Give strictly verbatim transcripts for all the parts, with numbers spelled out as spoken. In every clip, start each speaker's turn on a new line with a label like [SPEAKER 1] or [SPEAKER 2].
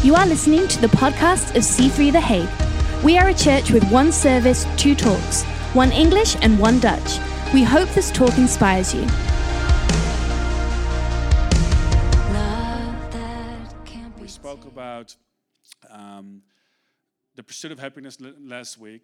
[SPEAKER 1] You are listening to the podcast of C three The Hague. We are a church with one service, two talks, one English and one Dutch. We hope this talk inspires you.
[SPEAKER 2] We spoke about um, the pursuit of happiness l- last week.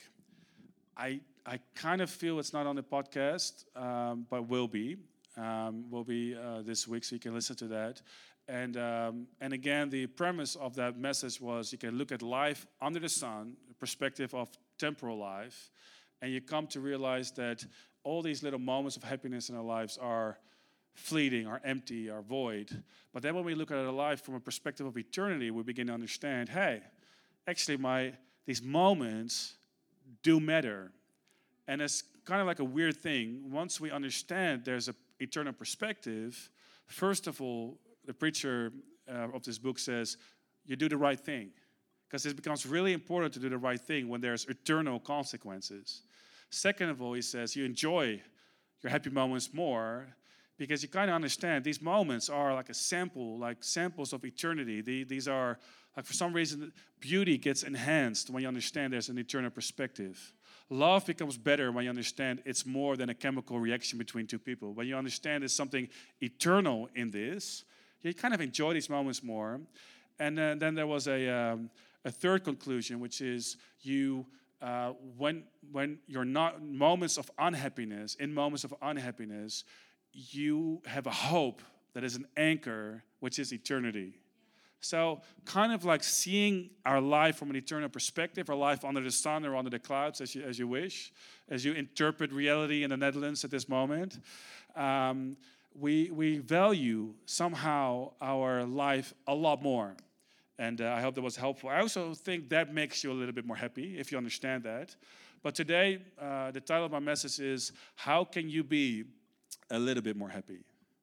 [SPEAKER 2] I I kind of feel it's not on the podcast, um, but will be. Um, will be uh, this week, so you can listen to that. And um, and again, the premise of that message was you can look at life under the sun, the perspective of temporal life, and you come to realize that all these little moments of happiness in our lives are fleeting, are empty, are void. But then when we look at our life from a perspective of eternity, we begin to understand, hey, actually my these moments do matter. And it's kind of like a weird thing. Once we understand there's an eternal perspective, first of all, the preacher uh, of this book says, you do the right thing. Because it becomes really important to do the right thing when there's eternal consequences. Second of all, he says, you enjoy your happy moments more because you kind of understand these moments are like a sample, like samples of eternity. The, these are, like for some reason, beauty gets enhanced when you understand there's an eternal perspective. Love becomes better when you understand it's more than a chemical reaction between two people. When you understand there's something eternal in this, you kind of enjoy these moments more. And uh, then there was a um, a third conclusion, which is you uh, when when you're not moments of unhappiness, in moments of unhappiness, you have a hope that is an anchor, which is eternity. So kind of like seeing our life from an eternal perspective, our life under the sun or under the clouds, as you, as you wish, as you interpret reality in the Netherlands at this moment, um, we, we value somehow our life a lot more. And uh, I hope that was helpful. I also think that makes you a little bit more happy, if you understand that. But today, uh, the title of my message is, How Can You Be a Little Bit More Happy?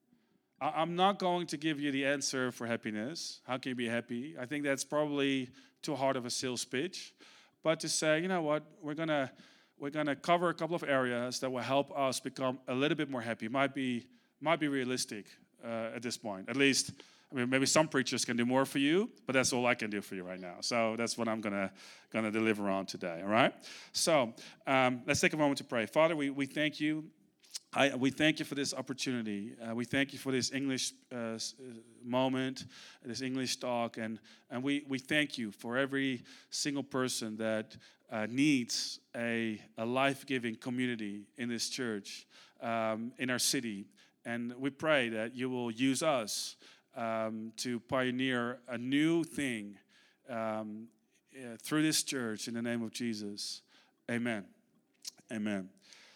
[SPEAKER 2] I'm not going to give you the answer for happiness. How can you be happy? I think that's probably too hard of a sales pitch. But to say, you know what, we're gonna we're gonna cover a couple of areas that will help us become a little bit more happy. Might be might be realistic uh, at this point. At least, I mean, maybe some preachers can do more for you, but that's all I can do for you right now. So that's what I'm gonna gonna deliver on today. All right. So um, let's take a moment to pray. Father, we we thank you. I, we thank you for this opportunity. Uh, we thank you for this English uh, moment, this English talk, and, and we, we thank you for every single person that uh, needs a, a life-giving community in this church, um, in our city. And we pray that you will use us um, to pioneer a new thing um, uh, through this church in the name of Jesus. Amen. Amen.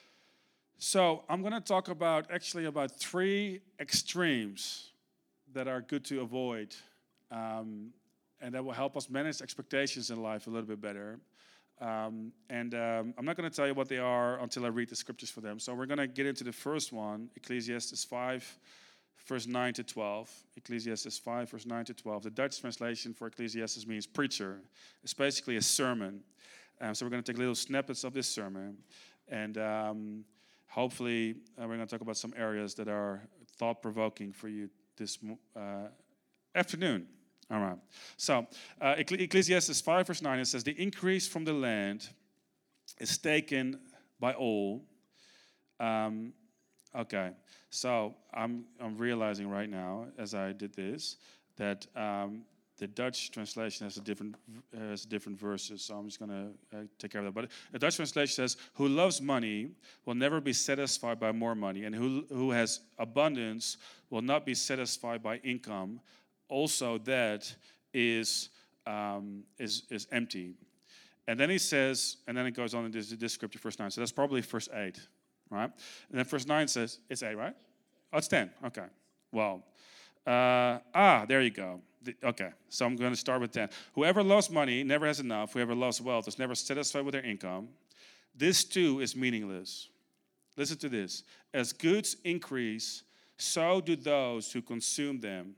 [SPEAKER 2] So I'm going to talk about actually about three extremes that are good to avoid, um, and that will help us manage expectations in life a little bit better. Um, and um, I'm not going to tell you what they are until I read the scriptures for them. So we're going to get into the first one, Ecclesiastes five, verse nine to twelve. Ecclesiastes five, verse nine to twelve. The Dutch translation for Ecclesiastes means preacher. It's basically a sermon. Um, so we're going to take little snippets of this sermon, and um, Hopefully, uh, we're going to talk about some areas that are thought-provoking for you this uh, afternoon. All right. So, uh, Ecclesiastes five, verse nine, it says, the increase from the land is taken by all. Um, okay. So, I'm, I'm realizing right now, as I did this, that um, the Dutch translation has a different uh, has different verses, so I'm just going to uh, take care of that. But the Dutch translation says, who loves money will never be satisfied by more money, and who who has abundance will not be satisfied by income. Also, that is um, is is empty. And then he says, and then it goes on in this, this scripture, verse nine. So that's probably verse eight, right? And then verse nine says, it's eight, right? Oh, it's ten. Okay. Well, uh, ah, there you go. Okay, so I'm going to start with ten. Whoever loves money never has enough. Whoever loves wealth is never satisfied with their income. This too is meaningless. Listen to this. As goods increase, so do those who consume them.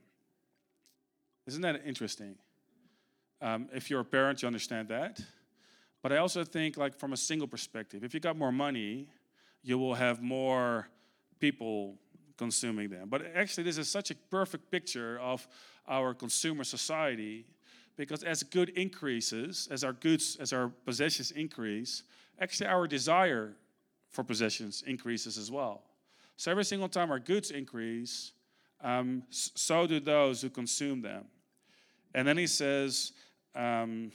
[SPEAKER 2] Isn't that interesting? Um, if you're a parent, you understand that. But I also think, like, from a single perspective, if you got more money, you will have more people consuming them. But actually, this is such a perfect picture of our consumer society Because as good increases, as our goods, as our possessions increase, actually our desire for possessions increases as well. So every single time our goods increase, um, so do those who consume them. And then he says, um,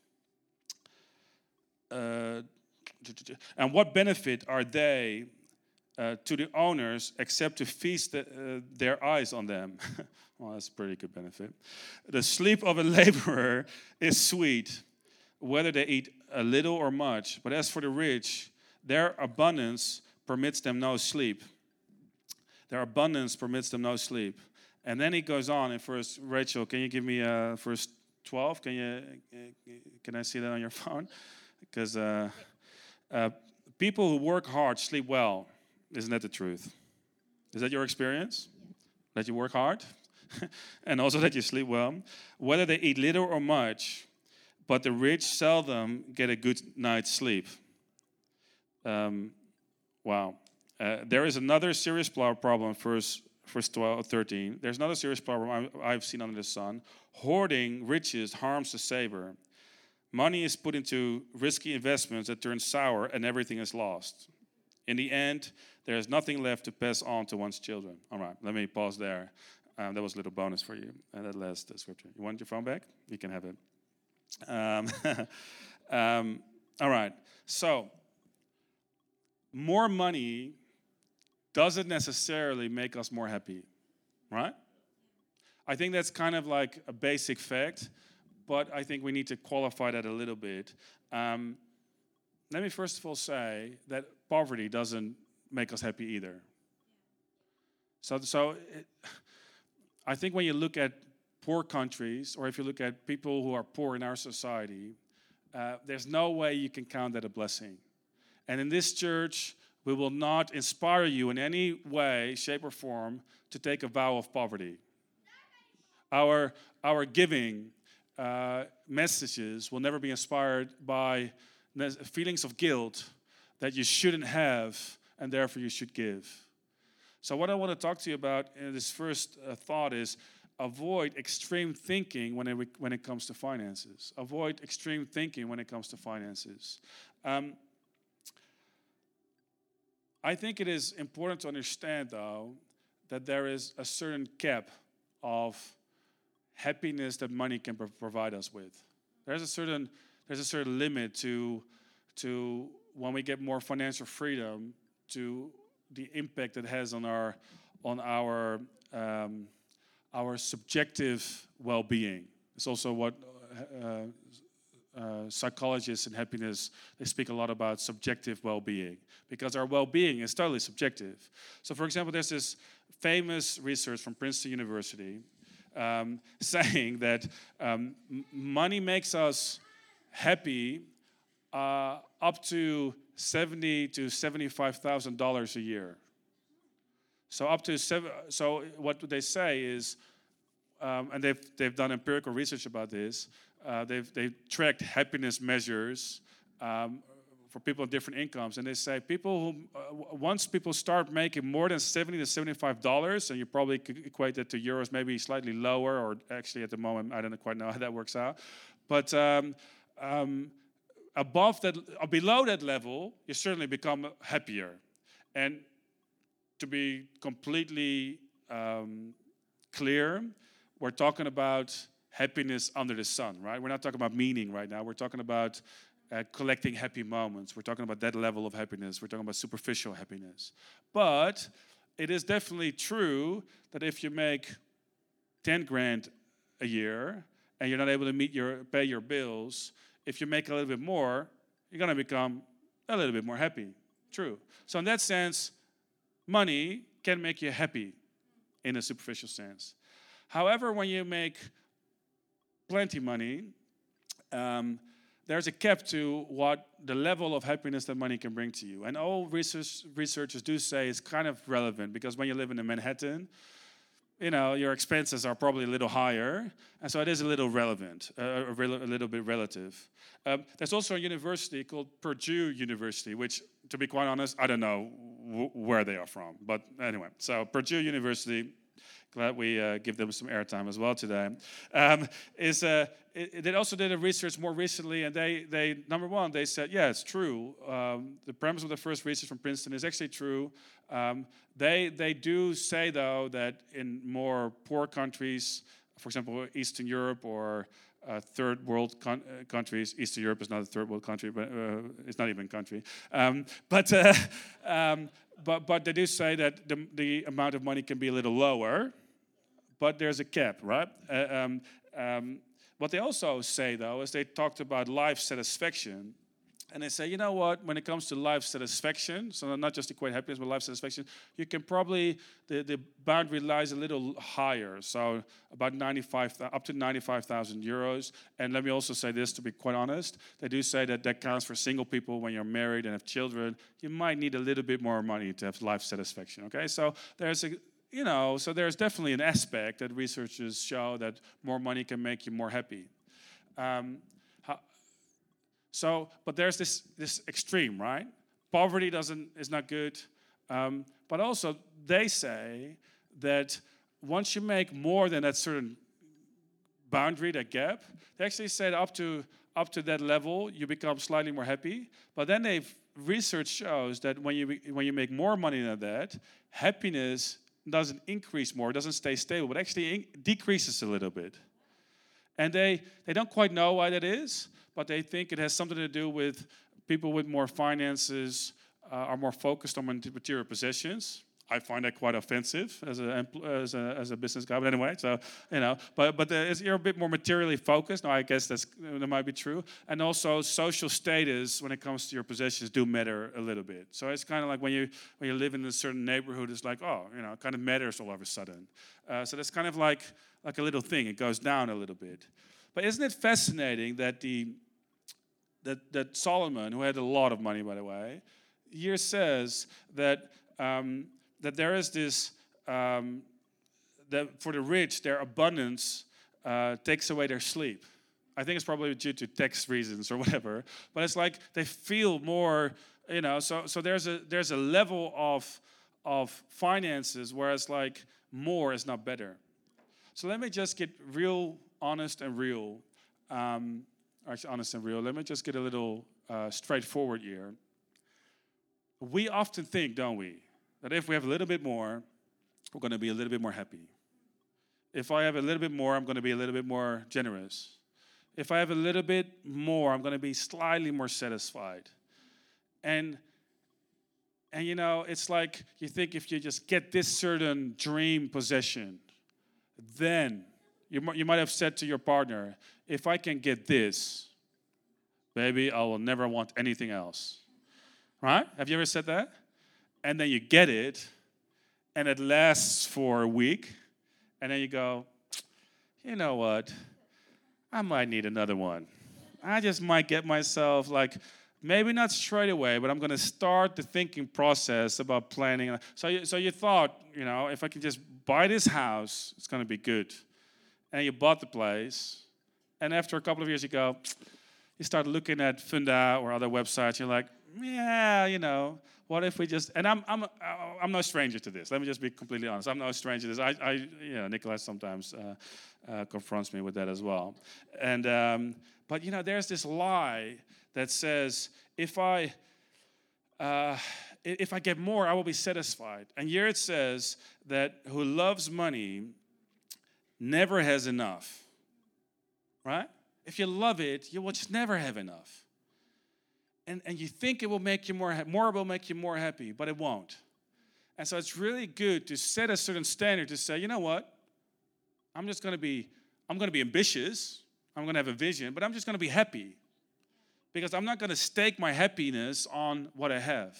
[SPEAKER 2] uh, and what benefit are they uh, to the owners except to feast the, uh, their eyes on them? Well, that's a pretty good benefit. The sleep of a laborer is sweet, whether they eat a little or much. But as for the rich, their abundance permits them no sleep. Their abundance permits them no sleep. And then he goes on in verse, Rachel, can you give me uh, verse twelve? Can you? Can I see that on your phone? Because uh, uh, people who work hard sleep well. Isn't that the truth? Is that your experience? Yeah. That you work hard? And also that you sleep well? Whether they eat little or much, but the rich seldom get a good night's sleep. Um, wow. Uh, there is another serious problem, verse, verse twelve, thirteen. There's another serious problem I, I've seen under the sun. Hoarding riches harms the saver. Money is put into risky investments that turn sour and everything is lost. In the end, there is nothing left to pass on to one's children. All right, let me pause there. Um, that was a little bonus for you. And that last uh, scripture. You want your phone back? You can have it. Um, um, all right, so more money doesn't necessarily make us more happy, right? I think that's kind of like a basic fact, but I think we need to qualify that a little bit. Um, let me first of all say that poverty doesn't make us happy either. So, so it, I think when you look at poor countries, or if you look at people who are poor in our society, uh, there's no way you can count that a blessing. And in this church, we will not inspire you in any way, shape, or form to take a vow of poverty. Our, our giving uh, messages will never be inspired by feelings of guilt that you shouldn't have and therefore you should give. So what I want to talk to you about in this first uh, thought is avoid extreme thinking when it, when it comes to finances. Avoid extreme thinking when it comes to finances. Um, I think it is important to understand, though, that there is a certain cap of happiness that money can pro- provide us with. There's a certain there's a certain limit to to when we get more financial freedom, to the impact it has on our on our um, our subjective well-being. It's also what uh, uh, psychologists in happiness, they speak a lot about subjective well-being, because our well-being is totally subjective. So, for example, there's this famous research from Princeton University um, saying that um, m- money makes us happy uh, up to seventy to seventy-five thousand dollars a year. So up to seven. So what they say is, um, and they've they've done empirical research about this. Uh, they've they've tracked happiness measures um, for people of different incomes, and they say people who uh, once people start making more than seventy to seventy-five dollars, and you probably could equate that to euros, maybe slightly lower, or actually at the moment I don't quite know how that works out, but. Um, um, Above that, or below that level, you certainly become happier. And to be completely um, clear, we're talking about happiness under the sun, right? We're not talking about meaning right now. We're talking about uh, collecting happy moments. We're talking about that level of happiness. We're talking about superficial happiness. But it is definitely true that if you make ten grand a year and you're not able to meet your pay your bills, if you make a little bit more, you're going to become a little bit more happy. True. So in that sense, money can make you happy in a superficial sense. However, when you make plenty money, um, there's a cap to what the level of happiness that money can bring to you. And all research, researchers do say it's kind of relevant, because when you live in Manhattan, you know, your expenses are probably a little higher, and so it is a little relevant, uh, a, rel- a little bit relative. Um, there's also a university called Purdue University, which, to be quite honest, I don't know w- where they are from. But anyway, so Purdue University, glad we uh, give them some airtime as well today. Um, is uh, it, they also did a research more recently, and they, they number one, they said, yeah, it's true. Um, the premise of the first research from Princeton is actually true. Um, they they do say, though, that in more poor countries, for example, Eastern Europe or uh, third world con- uh, countries, Eastern Europe is not a third world country, but uh, it's not even a country. Um, but, uh, um, but but they do say that the, the amount of money can be a little lower, but there's a cap, right? Uh, um, um, what they also say, though, is they talked about life satisfaction. And they say, you know what, when it comes to life satisfaction, so not just equate happiness, but life satisfaction, you can probably, the, the boundary lies a little higher. So about ninety-five, up to ninety-five thousand euros. And let me also say this, to be quite honest, they do say that that counts for single people when you're married and have children. You might need a little bit more money to have life satisfaction, okay? So there's a, you know, so there's definitely an aspect that researchers show that more money can make you more happy. Um, So, but there's this this extreme, right? Poverty doesn't is not good, um, but also they say that once you make more than that certain boundary, that gap, they actually say that up to up to that level you become slightly more happy. But then they've research shows that when you when you make more money than that, happiness doesn't increase more, it doesn't stay stable, but actually in- decreases a little bit. And they they don't quite know why that is. But they think it has something to do with people with more finances uh, are more focused on material possessions. I find that quite offensive as a as a, as a business guy, but anyway, so you know, but but the, you're a bit more materially focused. Now, I guess that's that might be true, and also social status when it comes to your possessions do matter a little bit. So it's kind of like when you when you live in a certain neighborhood, it's like, oh, you know, it kind of matters all of a sudden. Uh, so that's kind of like like a little thing. It goes down a little bit. But isn't it fascinating that the that that Solomon, who had a lot of money, by the way, here says that um, that there is this um, that for the rich their abundance uh, takes away their sleep. I think it's probably due to tax reasons or whatever. But it's like they feel more, you know. So so there's a there's a level of of finances where it's like more is not better. So let me just get real honest and real. Um, actually, honest and real. Let me just get a little uh, straightforward here. We often think, don't we, that if we have a little bit more, we're going to be a little bit more happy. If I have a little bit more, I'm going to be a little bit more generous. If I have a little bit more, I'm going to be slightly more satisfied. And, and you know, it's like you think if you just get this certain dream possession, then you, you might have said to your partner, if I can get this, baby, I will never want anything else. Right? Have you ever said that? And then you get it, and it lasts for a week, and then you go, you know what? I might need another one. I just might get myself, like, maybe not straight away, but I'm going to start the thinking process about planning. So you, so you thought, you know, if I can just buy this house, it's going to be good. And you bought the place, and after a couple of years you go, you start looking at Funda or other websites, you're like, yeah, you know, what if we just, and I'm I'm I'm no stranger to this. Let me just be completely honest. I'm no stranger to this. I, I you know, Nicholas sometimes uh, uh, confronts me with that as well. And, um, but, you know, there's this lie that says, if I, uh, if I get more, I will be satisfied. And here it says that who loves money never has enough, right? If you love it, you will just never have enough. And, and you think it will make you more, more will make you more happy, but it won't. And so it's really good to set a certain standard to say, you know what? I'm just going to be, I'm going to be ambitious. I'm going to have a vision, but I'm just going to be happy. Because I'm not going to stake my happiness on what I have.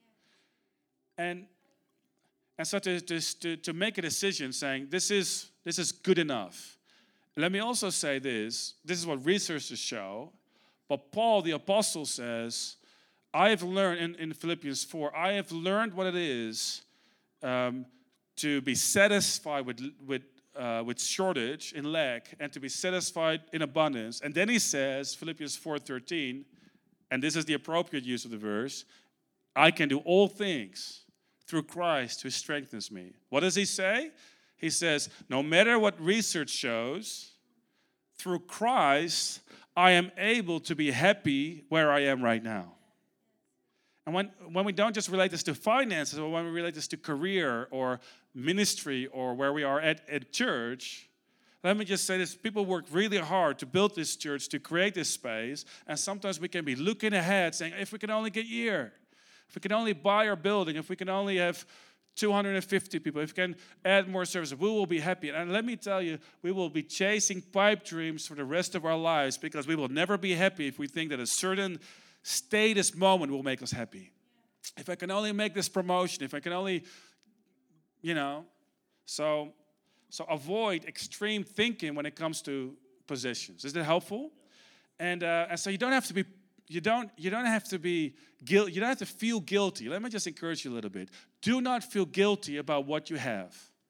[SPEAKER 2] And, and so to, to, to make a decision saying, this is, this is good enough. Let me also say this. This is what researchers show. But Paul, the apostle, says, I have learned, in, in Philippians four, I have learned what it is um, to be satisfied with, with, uh, with shortage, in lack, and to be satisfied in abundance. And then he says, Philippians four thirteen, and this is the appropriate use of the verse, I can do all things through Christ who strengthens me. What does he say? He says, no matter what research shows, through Christ, I am able to be happy where I am right now. And when, when we don't just relate this to finances, or when we relate this to career or ministry or where we are at, at church, let me just say this, people work really hard to build this church, to create this space, and sometimes we can be looking ahead saying, if we can only get here, if we can only buy our building, if we can only have two hundred fifty people, if we can add more services, we will be happy. And let me tell you, we will be chasing pipe dreams for the rest of our lives because we will never be happy if we think that a certain status moment will make us happy. If I can only make this promotion, if I can only, you know, so... So avoid extreme thinking when it comes to possessions. Is that helpful? And uh, and so you don't have to be you don't you don't have to be guilt. You don't have to feel guilty. Let me just encourage you a little bit. Do not feel guilty about what you have.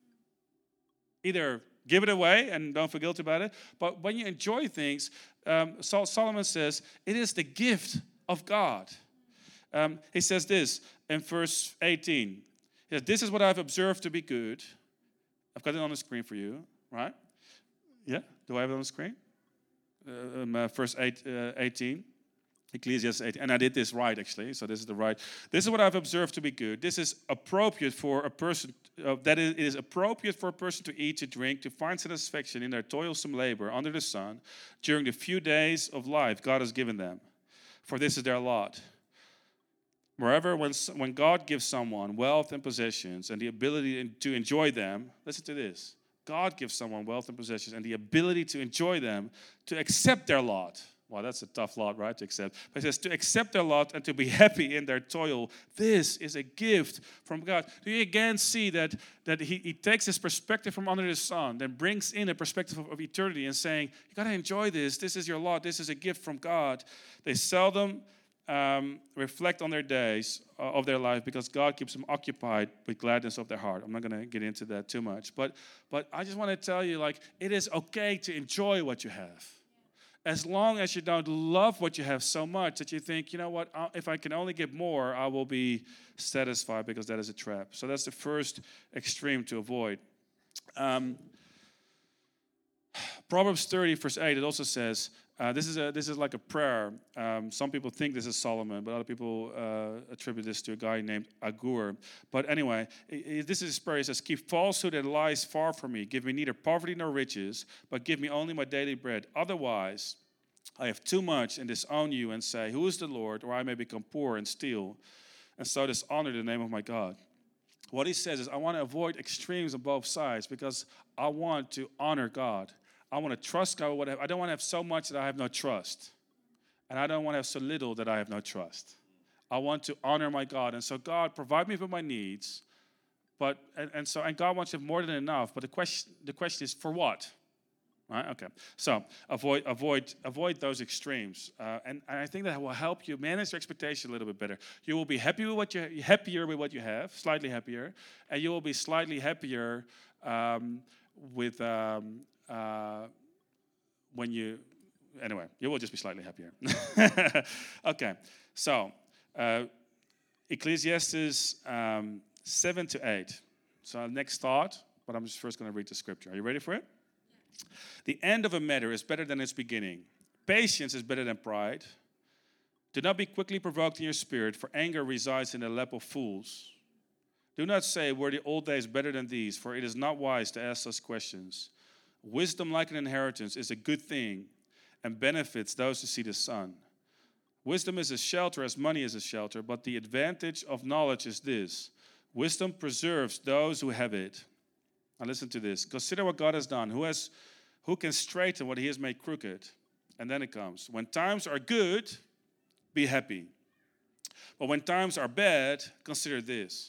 [SPEAKER 2] Either give it away and don't feel guilty about it. But when you enjoy things, um, Solomon says it is the gift of God. Um, he says this in verse eighteen. He says, "This is what I've observed to be good." I've got it on the screen for you, right? Yeah, do I have it on the screen? Uh, um, uh, verse eight, uh, eighteen, Ecclesiastes eighteen, and I did this right actually, so this is the right. This is what I've observed to be good. This is appropriate for a person, uh, that it is appropriate for a person to eat, to drink, to find satisfaction in their toilsome labor under the sun during the few days of life God has given them, for this is their lot. Moreover, when, when God gives someone wealth and possessions and the ability to enjoy them, listen to this. God gives someone wealth and possessions and the ability to enjoy them, to accept their lot. Well, that's a tough lot, right, to accept. But he says, to accept their lot and to be happy in their toil. This is a gift from God. Do you again see that, that he, he takes his perspective from under the sun, then brings in a perspective of, of eternity and saying, you got to enjoy this. This is your lot. This is a gift from God. They seldom Um, reflect on their days uh, of their life because God keeps them occupied with gladness of their heart. I'm not going to get into that too much. But but I just want to tell you, like, it is okay to enjoy what you have. As long as you don't love what you have so much that you think, you know what, I'll, if I can only get more, I will be satisfied, because that is a trap. So that's the first extreme to avoid. Um, Proverbs thirty, verse eight, it also says, Uh, this is a this is like a prayer. Um, some people think this is Solomon, but other people uh, attribute this to a guy named Agur. But anyway, it, it, this is his prayer. He says, "Keep falsehood and lies far from me. Give me neither poverty nor riches, but give me only my daily bread. Otherwise, I have too much and disown you and say, who is the Lord? Or I may become poor and steal, and so dishonor the name of my God." What he says is, I want to avoid extremes on both sides because I want to honor God. I want to trust God with what I have. I don't want to have so much that I have no trust. And I don't want to have so little that I have no trust. I want to honor my God. And so, God, provide me with my needs. But and, and so and God wants to have more than enough. But the question the question is, for what? Right? Okay. So avoid avoid avoid those extremes. Uh, and, and I think that will help you manage your expectation a little bit better. You will be happy with what you happier with what you have, slightly happier, and you will be slightly happier um, with um, Uh, when you, anyway, you will just be slightly happier. Okay, so uh, Ecclesiastes um, seven to eight. So next thought, but I'm just first going to read the scripture. Are you ready for it? Yeah. The end of a matter is better than its beginning. Patience is better than pride. Do not be quickly provoked in your spirit, for anger resides in the lap of fools. Do not say, were the old days better than these, for it is not wise to ask such questions. Wisdom, like an inheritance, is a good thing and benefits those who see the sun. Wisdom is a shelter as money is a shelter, but the advantage of knowledge is this: wisdom preserves those who have it. Now listen to this. Consider what God has done. Who has, who can straighten what he has made crooked? And then it comes. When times are good, be happy. But when times are bad, consider this: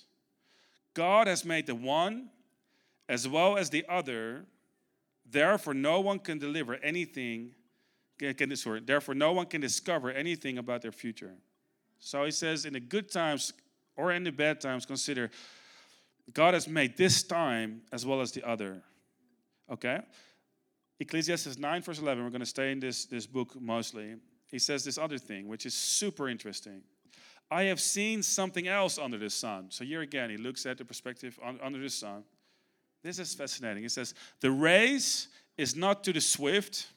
[SPEAKER 2] God has made the one as well as the other. Therefore, no one can deliver anything. Can, sorry, therefore, no one can discover anything about their future. So he says, in the good times or in the bad times, consider God has made this time as well as the other. Okay? Ecclesiastes nine, verse eleven. We're going to stay in this, this book mostly. He says this other thing, which is super interesting. I have seen something else under the sun. So here again, he looks at the perspective on, under the sun. This is fascinating. It says, the race is not to the swift,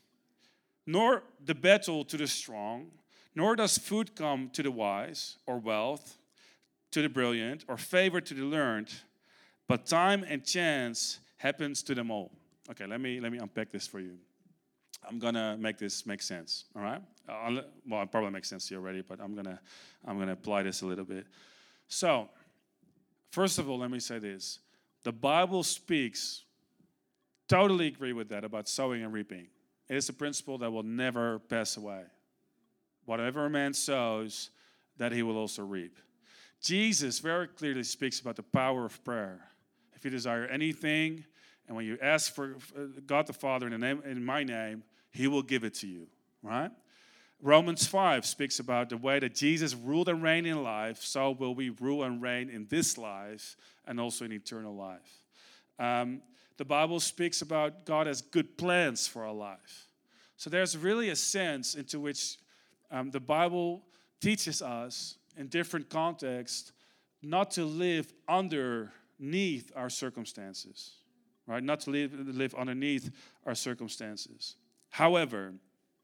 [SPEAKER 2] nor the battle to the strong, nor does food come to the wise, or wealth to the brilliant, or favor to the learned, but time and chance happens to them all. Okay, let me let me unpack this for you. I'm gonna make this make sense. All right? I'll, well, it probably makes sense to you already, but I'm gonna I'm gonna apply this a little bit. So, first of all, let me say this: the Bible speaks. Totally agree with that about sowing and reaping. It is a principle that will never pass away. Whatever a man sows, that he will also reap. Jesus very clearly speaks about the power of prayer. If you desire anything, and when you ask for God the Father in, the name, in my name, he will give it to you, right? Romans five speaks about the way that Jesus ruled and reigned in life, so will we rule and reign in this life and also in eternal life. Um, the Bible speaks about God has good plans for our life. So there's really a sense into which um, the Bible teaches us in different contexts not to live underneath our circumstances, right? Not to live, live underneath our circumstances. However,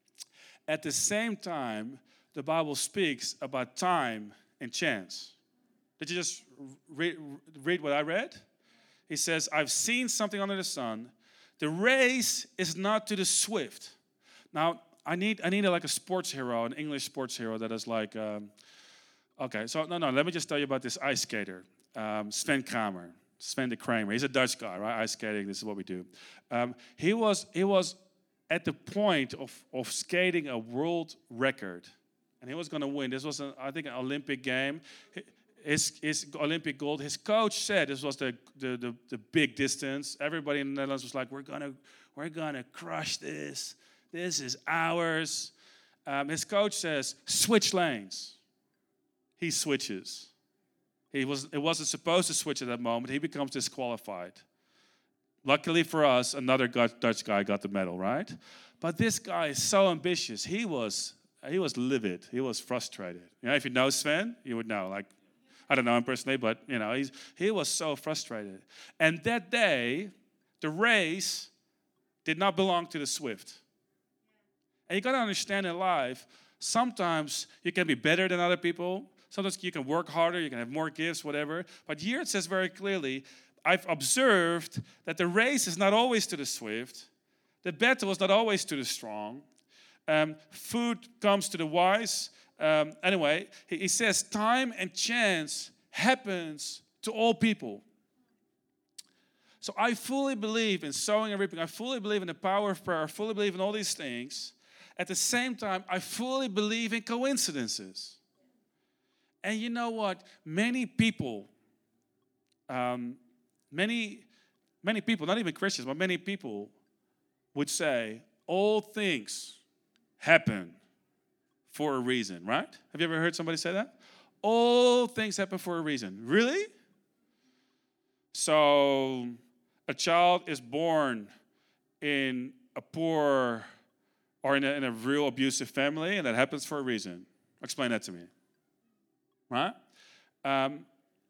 [SPEAKER 2] at the same time, the Bible speaks about time and chance. Did you just read, read what I read? He says, I've seen something under the sun. The race is not to the swift. Now, I need I need a, like a sports hero, an English sports hero that is like, um, okay, so no, no, let me just tell you about this ice skater, um, Sven Kramer. Sven de Kramer. He's a Dutch guy, right? Ice skating, this is what we do. Um, he was he was at the point of, of skating a world record. And he was going to win. This was, an, I think, an Olympic game. His, his Olympic gold. His coach said this was the, the, the, the big distance. Everybody in the Netherlands was like, we're going to we're gonna crush this. This is ours. Um, his coach says, switch lanes. He switches. He was, it wasn't supposed to switch at that moment. He becomes disqualified. Luckily for us, another Dutch guy got the medal, right? But this guy is so ambitious. He was he was livid. He was frustrated. You know, if you know Sven, you would know. Like, I don't know him personally, but you know, he's he was so frustrated. And that day, the race did not belong to the swift. And you got to understand in life, sometimes you can be better than other people. Sometimes you can work harder, you can have more gifts, whatever. But here it says very clearly, I've observed that the race is not always to the swift. The battle is not always to the strong. Um, food comes to the wise. Um, anyway, he, he says time and chance happens to all people. So I fully believe in sowing and reaping. I fully believe in the power of prayer. I fully believe in all these things. At the same time, I fully believe in coincidences. And you know what? Many people... Um, Many, many people, not even Christians, but many people would say, all things happen for a reason, right? Have you ever heard somebody say that? All things happen for a reason. Really? So, a child is born in a poor or in a, in a real abusive family, and that happens for a reason. Explain that to me. Right? Um,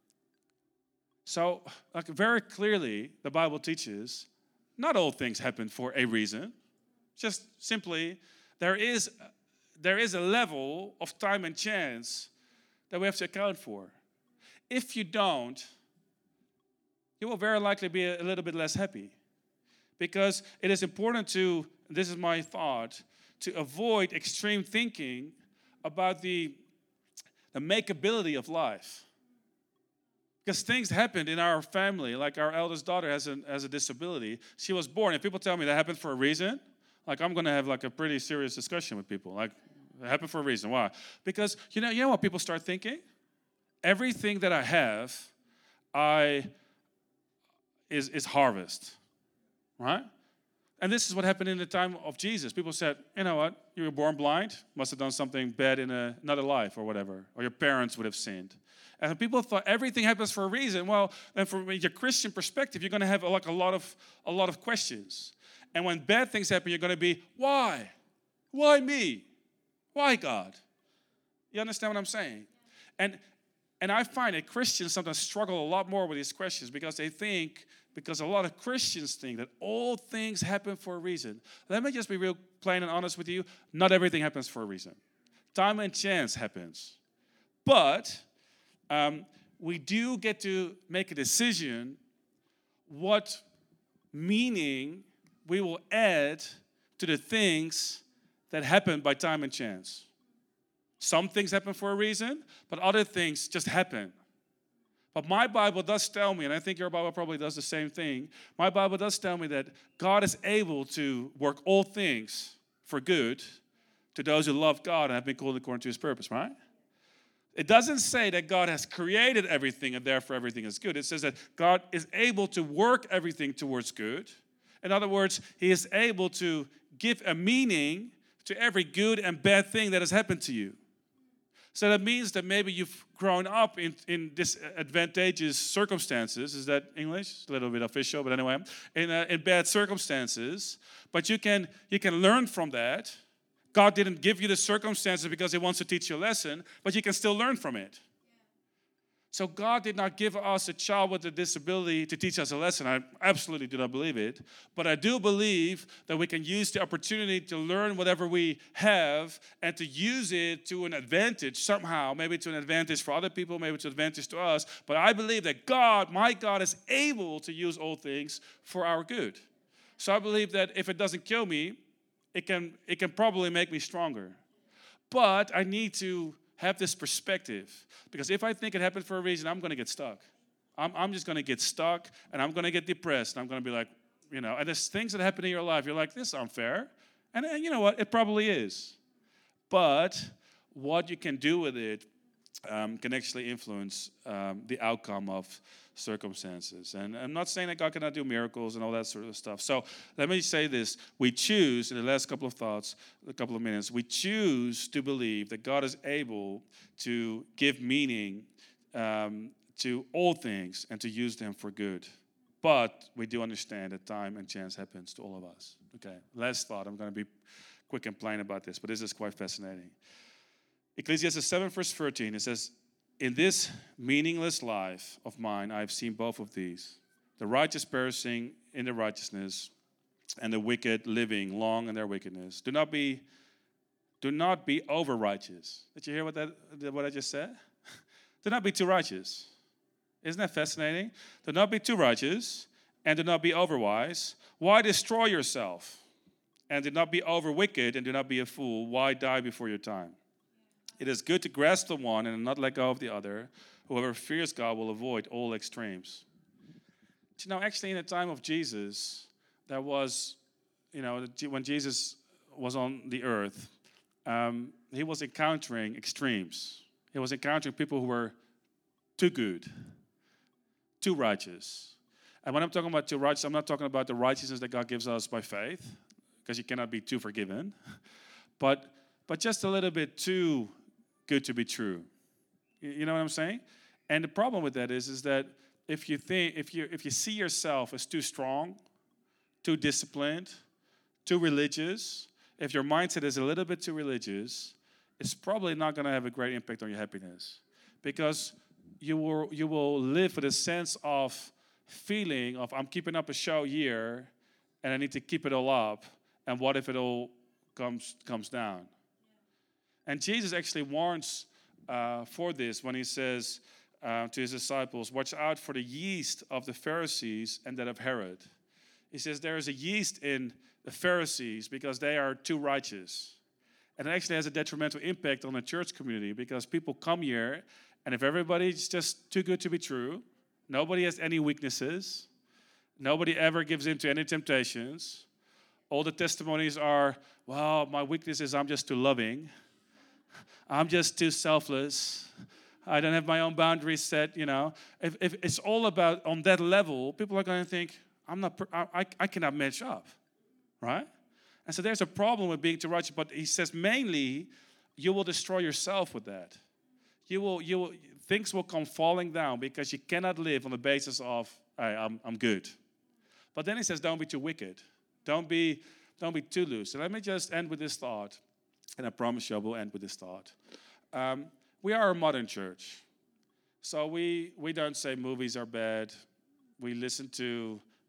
[SPEAKER 2] So, like very clearly, the Bible teaches not all things happen for a reason. Just simply, there is, there is a level of time and chance that we have to account for. If you don't, you will very likely be a little bit less happy. Because it is important to, this is my thought, to avoid extreme thinking about the, the makeability of life. Because things happened in our family, like our eldest daughter has a, has a disability. She was born, and people tell me that happened for a reason. Like, I'm going to have like a pretty serious discussion with people. Like, it happened for a reason. Why? Because, you know, you know what people start thinking? Everything that I have, I is, is harvest, right? And this is what happened in the time of Jesus. People said, you know what? You were born blind. Must have done something bad in a, another life or whatever. Or your parents would have sinned. And people thought everything happens for a reason. Well, then from your Christian perspective, you're going to have like a lot of a lot of questions. And when bad things happen, you're going to be, why? Why me? Why God? You understand what I'm saying? And and I find that Christians sometimes struggle a lot more with these questions because they think because a lot of Christians think that all things happen for a reason. Let me just be real plain and honest with you. Not everything happens for a reason. Time and chance happens. But um, we do get to make a decision what meaning we will add to the things that happen by time and chance. Some things happen for a reason, but other things just happen. But my Bible does tell me, and I think your Bible probably does the same thing, my Bible does tell me that God is able to work all things for good to those who love God and have been called according to his purpose, right? It doesn't say that God has created everything and therefore everything is good. It says that God is able to work everything towards good. In other words, he is able to give a meaning to every good and bad thing that has happened to you. So that means that maybe you've grown up in, in disadvantageous circumstances. Is that English? It's a little bit official, but anyway. In, uh, in bad circumstances. But you can, you can learn from that. God didn't give you the circumstances because he wants to teach you a lesson, but you can still learn from it. So God did not give us a child with a disability to teach us a lesson. I absolutely do not believe it. But I do believe that we can use the opportunity to learn whatever we have and to use it to an advantage somehow, maybe to an advantage for other people, maybe to an advantage to us. But I believe that God, my God, is able to use all things for our good. So I believe that if it doesn't kill me, it can, it can probably make me stronger. But I need to have this perspective. Because if I think it happened for a reason, I'm going to get stuck. I'm, I'm just going to get stuck, and I'm going to get depressed. And I'm going to be like, you know, and there's things that happen in your life. You're like, this is unfair. And, and you know what? It probably is. But what you can do with it um, can actually influence um, the outcome of circumstances. And I'm not saying that God cannot do miracles and all that sort of stuff. So let me say this. We choose, in the last couple of thoughts, a couple of minutes, we choose to believe that God is able to give meaning um, to all things and to use them for good. But we do understand that time and chance happens to all of us. Okay, last thought. I'm going to be quick and plain about this, but this is quite fascinating. Ecclesiastes seven, verse thirteen, it says, in this meaningless life of mine, I have seen both of these, the righteous perishing in their righteousness and the wicked living long in their wickedness. Do not be, do not be over righteous. Did you hear what that what I just said? Do not be too righteous. Isn't that fascinating? Do not be too righteous and do not be over wise. Why destroy yourself? And do not be over wicked and do not be a fool. Why die before your time? It is good to grasp the one and not let go of the other. Whoever fears God will avoid all extremes. But you know, actually in the time of Jesus, there was, you know, when Jesus was on the earth, um, he was encountering extremes. He was encountering people who were too good, too righteous. And when I'm talking about too righteous, I'm not talking about the righteousness that God gives us by faith, because you cannot be too forgiven, but but just a little bit too good to be true. You know what I'm saying? And the problem with that is, is that if you think, if you if you see yourself as too strong, too disciplined, too religious, if your mindset is a little bit too religious, it's probably not going to have a great impact on your happiness, because you will you will live with a sense of feeling of I'm keeping up a show here, and I need to keep it all up, and what if it all comes comes down? And Jesus actually warns uh, for this when he says uh, to his disciples, watch out for the yeast of the Pharisees and that of Herod. He says there is a yeast in the Pharisees because they are too righteous. And it actually has a detrimental impact on the church community, because people come here, and if everybody's just too good to be true, nobody has any weaknesses, nobody ever gives in to any temptations, all the testimonies are, well, my weakness is I'm just too loving, I'm just too selfless, I don't have my own boundaries set, you know. If, if it's all about on that level, people are going to think, I'm not, I, I cannot match up, right? And so there's a problem with being too righteous, but he says mainly you will destroy yourself with that. You will, you will, things will come falling down because you cannot live on the basis of, hey, I'm, I'm good. But then he says, don't be too wicked. Don't be, don't be too loose. So let me just end with this thought. And I promise you I will end with this thought. Um, we are a modern church. So we, we don't say movies are bad. We listen to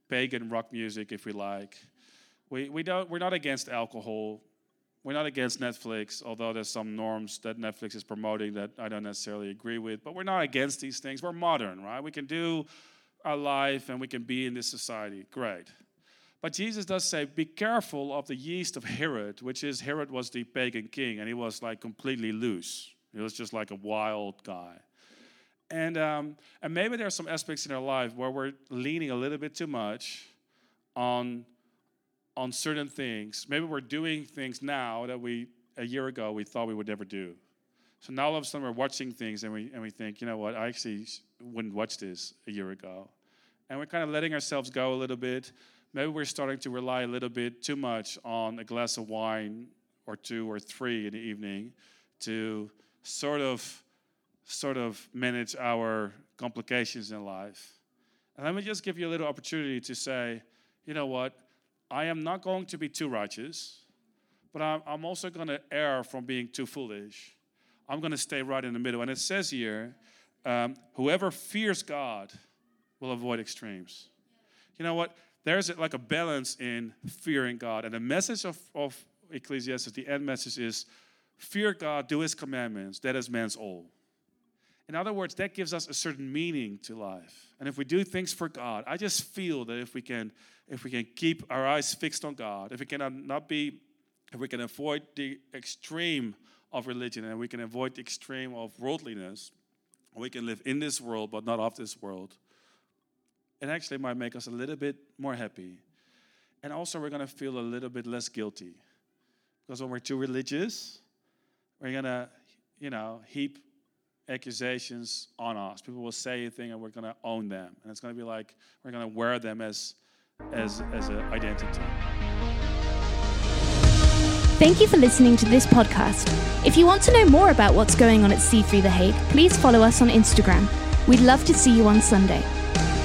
[SPEAKER 2] pagan rock music if we like. We we don't we're not against alcohol. We're not against Netflix, although there's some norms that Netflix is promoting that I don't necessarily agree with. But we're not against these things. We're modern, right? We can do our life and we can be in this society. Great. But Jesus does say, be careful of the yeast of Herod, which is, Herod was the pagan king, and he was like completely loose. He was just like a wild guy. And um, and maybe there are some aspects in our life where we're leaning a little bit too much on, on certain things. Maybe we're doing things now that we, a year ago, we thought we would never do. So now all of a sudden we're watching things and we and we think, you know what, I actually wouldn't watch this a year ago. And we're kind of letting ourselves go a little bit. Maybe we're starting to rely a little bit too much on a glass of wine or two or three in the evening to sort of sort of manage our complications in life. And let me just give you a little opportunity to say, you know what, I am not going to be too righteous, but I'm, I'm also going to err from being too foolish. I'm going to stay right in the middle. And it says here, um, whoever fears God will avoid extremes. You know what? There's like a balance in fearing God. And the message of, of Ecclesiastes, the end message is, fear God, do his commandments. That is man's all. In other words, that gives us a certain meaning to life. And if we do things for God, I just feel that if we can, if we can keep our eyes fixed on God, if we can not be, if we can avoid the extreme of religion and we can avoid the extreme of worldliness, we can live in this world but not of this world. It actually might make us a little bit more happy. And also we're going to feel a little bit less guilty. Because when we're too religious, we're going to, you know, heap accusations on us. People will say a thing and we're going to own them. And it's going to be like we're going to wear them as as as an identity.
[SPEAKER 1] Thank you for listening to this podcast. If you want to know more about what's going on at C three The Hague, please follow us on Instagram. We'd love to see you on Sunday.